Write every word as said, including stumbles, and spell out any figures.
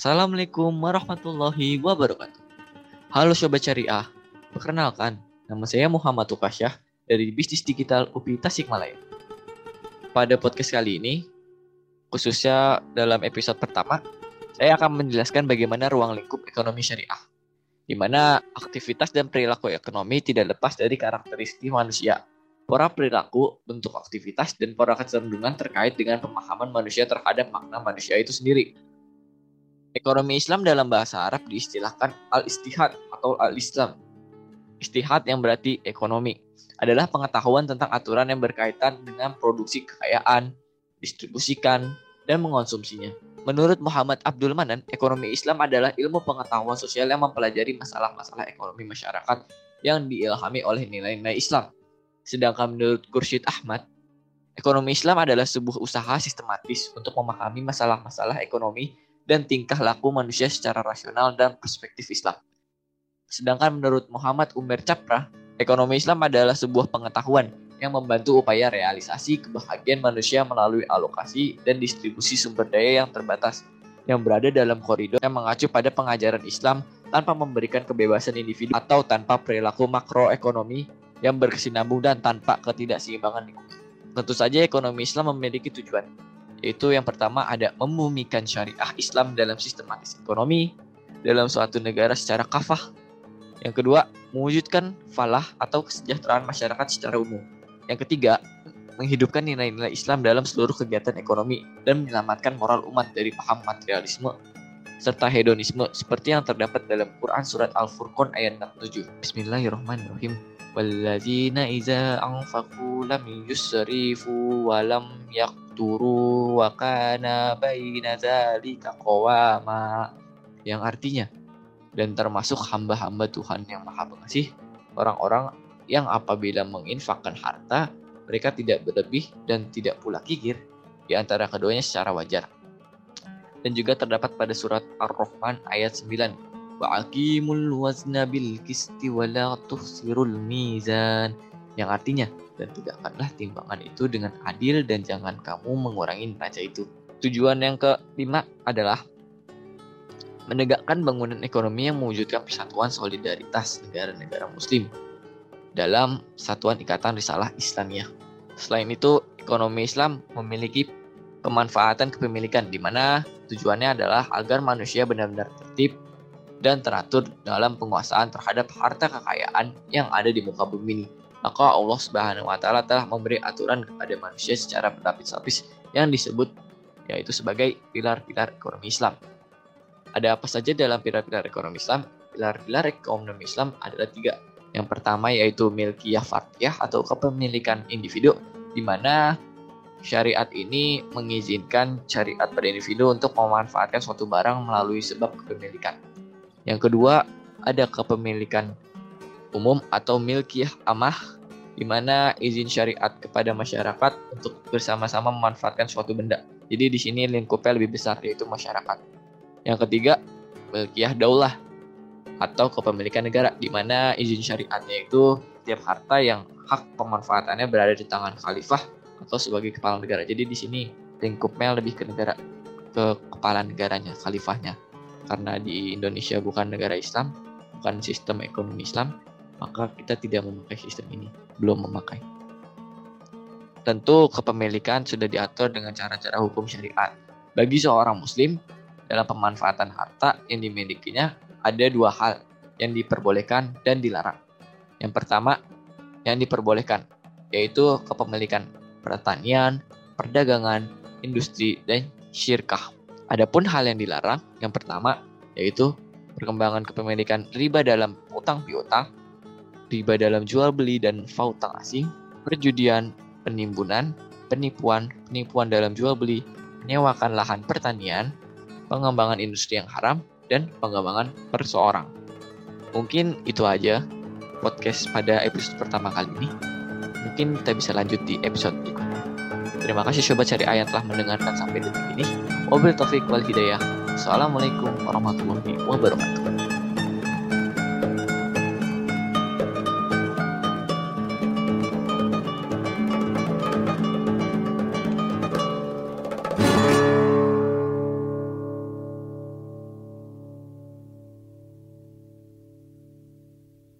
Assalamualaikum warahmatullahi wabarakatuh. Halo Sobat Syariah, perkenalkan, nama saya Muhammad Tukasyah dari Bisnis Digital U P I Tasikmalaya. Pada podcast kali ini, khususnya dalam episode pertama, saya akan menjelaskan bagaimana ruang lingkup ekonomi syariah, di mana aktivitas dan perilaku ekonomi tidak lepas dari karakteristik manusia, pola perilaku, bentuk aktivitas, dan pola kecenderungan terkait dengan pemahaman manusia terhadap makna manusia itu sendiri. Ekonomi Islam dalam bahasa Arab diistilahkan al-istihad atau al-Islam. Istihad yang berarti ekonomi adalah pengetahuan tentang aturan yang berkaitan dengan produksi kekayaan, distribusikan, dan mengonsumsinya. Menurut Muhammad Abdul Manan, ekonomi Islam adalah ilmu pengetahuan sosial yang mempelajari masalah-masalah ekonomi masyarakat yang diilhami oleh nilai-nilai Islam. Sedangkan menurut Khursyid Ahmad, ekonomi Islam adalah sebuah usaha sistematis untuk memahami masalah-masalah ekonomi dan tingkah laku manusia secara rasional dan perspektif Islam. Sedangkan menurut Muhammad Umar Capra, ekonomi Islam adalah sebuah pengetahuan yang membantu upaya realisasi kebahagiaan manusia melalui alokasi dan distribusi sumber daya yang terbatas, yang berada dalam koridor yang mengacu pada pengajaran Islam tanpa memberikan kebebasan individu atau tanpa perilaku makroekonomi yang berkesinambung dan tanpa ketidakseimbangan lingkungan. Tentu saja ekonomi Islam memiliki tujuan, yaitu yang pertama ada membumikan syariah Islam dalam sistematis ekonomi dalam suatu negara secara kafah. Yang kedua, mewujudkan falah atau kesejahteraan masyarakat secara umum. Yang ketiga, menghidupkan nilai-nilai Islam dalam seluruh kegiatan ekonomi dan menyelamatkan moral umat dari paham materialisme serta hedonisme seperti yang terdapat dalam Quran surat Al-Furqan ayat enam puluh tujuh. Bismillahirrahmanirrahim. Walladzina iza anfaqu lam yusrifu wa lam yaqturu wa kana baina dzalika qawama, yang artinya, dan termasuk hamba-hamba Tuhan yang Maha Pengasih, orang-orang yang apabila menginfakkan harta mereka tidak berlebih dan tidak pula kikir di antara keduanya secara wajar. Dan juga terdapat pada surat Ar-Rahman ayat sembilan, wa aqimul wazna bil qisti wa la tuhsirul mizan, yang artinya, dan tegakkanlah timbangan itu dengan adil dan jangan kamu mengurangi neraca itu. Tujuan yang kelima adalah menegakkan bangunan ekonomi yang mewujudkan persatuan solidaritas negara-negara muslim dalam satuan ikatan risalah Islamiyah. Selain itu, ekonomi Islam memiliki pemanfaatan kepemilikan di mana tujuannya adalah agar manusia benar-benar tertib dan teratur dalam penguasaan terhadap harta kekayaan yang ada di muka bumi ini. Maka Allah Subhanahu wa taala telah memberi aturan kepada manusia secara berlapis-lapis yang disebut yaitu sebagai pilar-pilar ekonomi Islam. Ada apa saja dalam pilar-pilar ekonomi Islam? Pilar-pilar ekonomi Islam adalah tiga. Yang pertama yaitu milkiyah fardiyah atau kepemilikan individu, di mana syariat ini mengizinkan syariat pada individu untuk memanfaatkan suatu barang melalui sebab kepemilikan. Yang kedua, ada kepemilikan umum atau milkiyah amah, di mana izin syariat kepada masyarakat untuk bersama-sama memanfaatkan suatu benda. Jadi di sini lingkupnya lebih besar, yaitu masyarakat. Yang ketiga, milkiyah daulah atau kepemilikan negara, di mana izin syariatnya itu setiap harta yang hak pemanfaatannya berada di tangan khalifah atau sebagai kepala negara. Jadi di sini lingkupnya lebih ke negara, ke kepala negaranya, khalifahnya. Karena di Indonesia bukan negara Islam, bukan sistem ekonomi Islam, maka kita tidak memakai sistem ini, belum memakai. Tentu kepemilikan sudah diatur dengan cara-cara hukum syariat. Bagi seorang muslim, dalam pemanfaatan harta yang dimilikinya ada dua hal yang diperbolehkan dan dilarang. Yang pertama, yang diperbolehkan, yaitu kepemilikan pertanian, perdagangan, industri, dan syirkah. Adapun hal yang dilarang, yang pertama, yaitu perkembangan kepemilikan riba dalam utang piutang, riba dalam jual beli dan fautang asing, perjudian, penimbunan, penipuan, penipuan dalam jual beli, menyewakan lahan pertanian, pengembangan industri yang haram, dan pengembangan perseorang. Mungkin itu aja podcast pada episode pertama kali ini. Mungkin kita bisa lanjut di episode berikutnya. Terima kasih Sobat Syariah yang telah mendengarkan sampai detik ini. Wabillahi taufiq wal hidayah. Assalamualaikum warahmatullahi wabarakatuh.